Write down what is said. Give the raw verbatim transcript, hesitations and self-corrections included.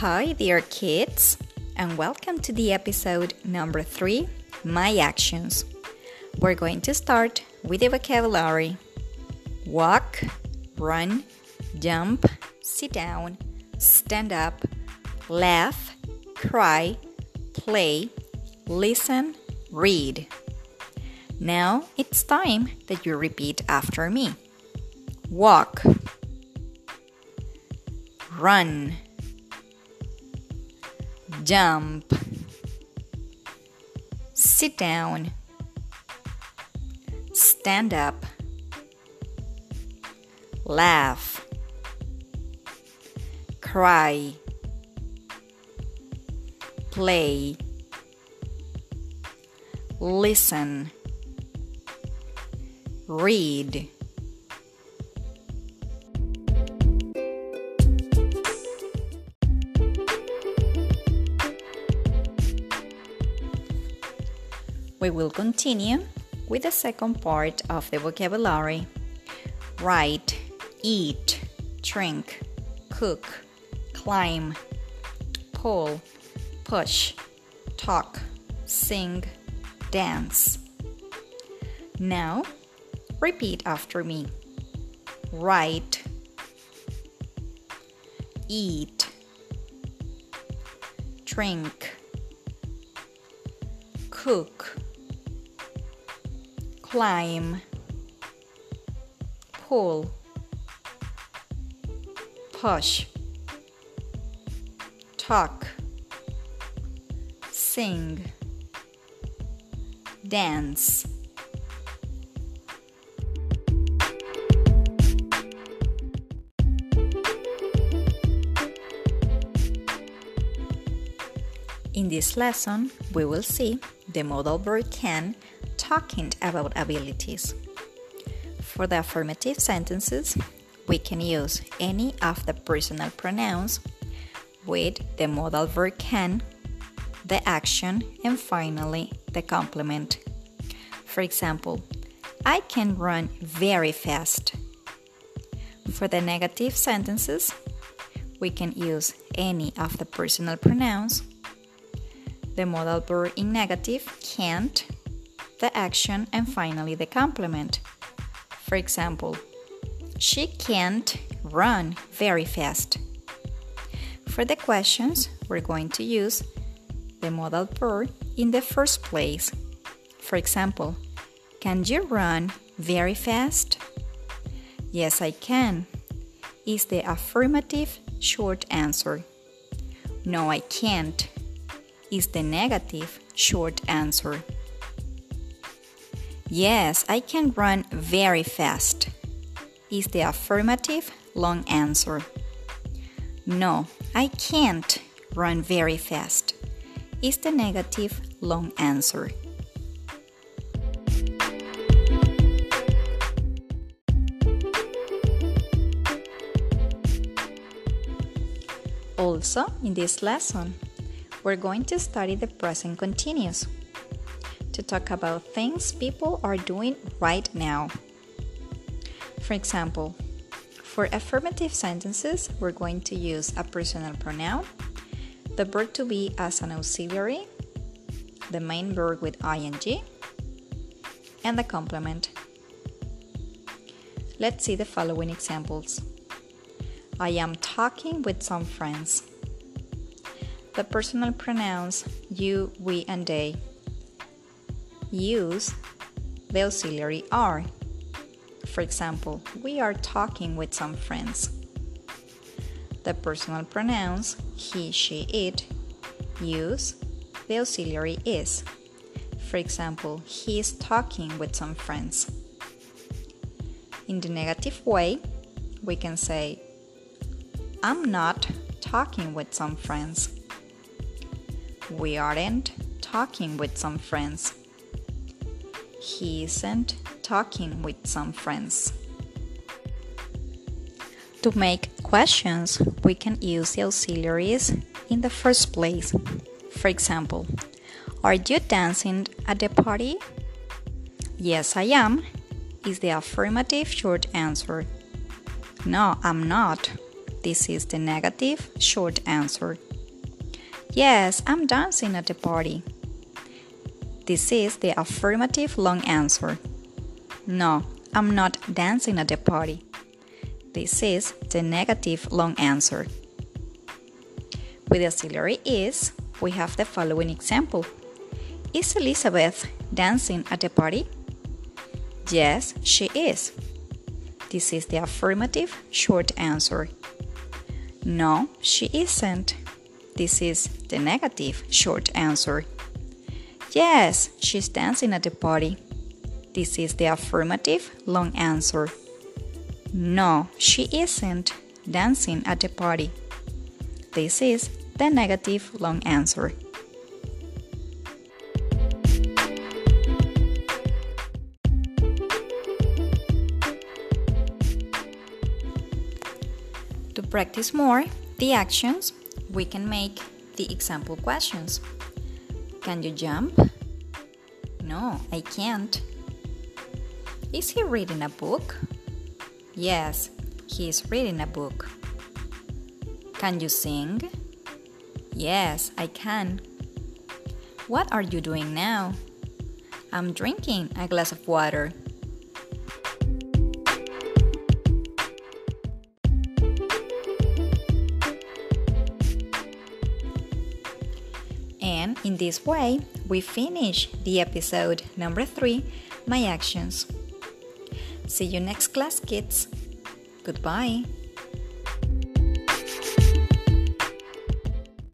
Hi, dear kids, and welcome to the episode number three, My Actions. We're going to start with the vocabulary: walk, run, jump, sit down, stand up, laugh, cry, play, listen, read. Now it's time that you repeat after me. Walk, run, jump, sit down, stand up, laugh, cry, play, listen, read. We will continue with the second part of the vocabulary: write, eat, drink, cook, climb, pull, push, talk, sing, dance. Now, repeat after me. Write, eat, drink, cook, climb, pull, push, talk, sing, dance. In this lesson, we will see the modal verb can talking about abilities. For the affirmative sentences, we can use any of the personal pronouns with the modal verb can, the action, and finally the complement. For example, I can run very fast. For the negative sentences, we can use any of the personal pronouns, the modal verb in negative, can't, the action, and finally the complement. For example, she can't run very fast. For the questions, we're going to use the modal verb in the first place. For example, can you run very fast? Yes, I can, is the affirmative short answer. No, I can't, is the negative short answer. Yes, I can run very fast, is the affirmative long answer. No, I can't run very fast, is the negative long answer. Also, in this lesson, we're going to study the present continuous to talk about things people are doing right now. For example, for affirmative sentences, we're going to use a personal pronoun, the verb to be as an auxiliary, the main verb with ing, and the complement. Let's see the following examples. I am talking with some friends. The personal pronouns you, we, and they use the auxiliary are. For example, we are talking with some friends. The personal pronouns he, she, it use the auxiliary is. For example, he is talking with some friends. In the negative way, we can say, I'm not talking with some friends. We aren't talking with some friends. He isn't talking with some friends. To make questions, we can use the auxiliaries in the first place. For example, are you dancing at the party? Yes, I am, is the affirmative short answer. No, I'm not. This is the negative short answer. Yes, I'm dancing at the party. This is the affirmative long answer. No, I'm not dancing at the party. This is the negative long answer. With the auxiliary is, we have the following example. Is Elizabeth dancing at the party? Yes, she is. This is the affirmative short answer. No, she isn't. This is the negative short answer. Yes, she's dancing at the party. This is the affirmative long answer. No, she isn't dancing at the party. This is the negative long answer. To practice more the actions, we can make the example questions. Can you jump? No, I can't. Is he reading a book? Yes, he is reading a book. Can you sing? Yes, I can. What are you doing now? I'm drinking a glass of water. And in this way, we finish the episode number three, My Actions. See you next class, kids. Goodbye.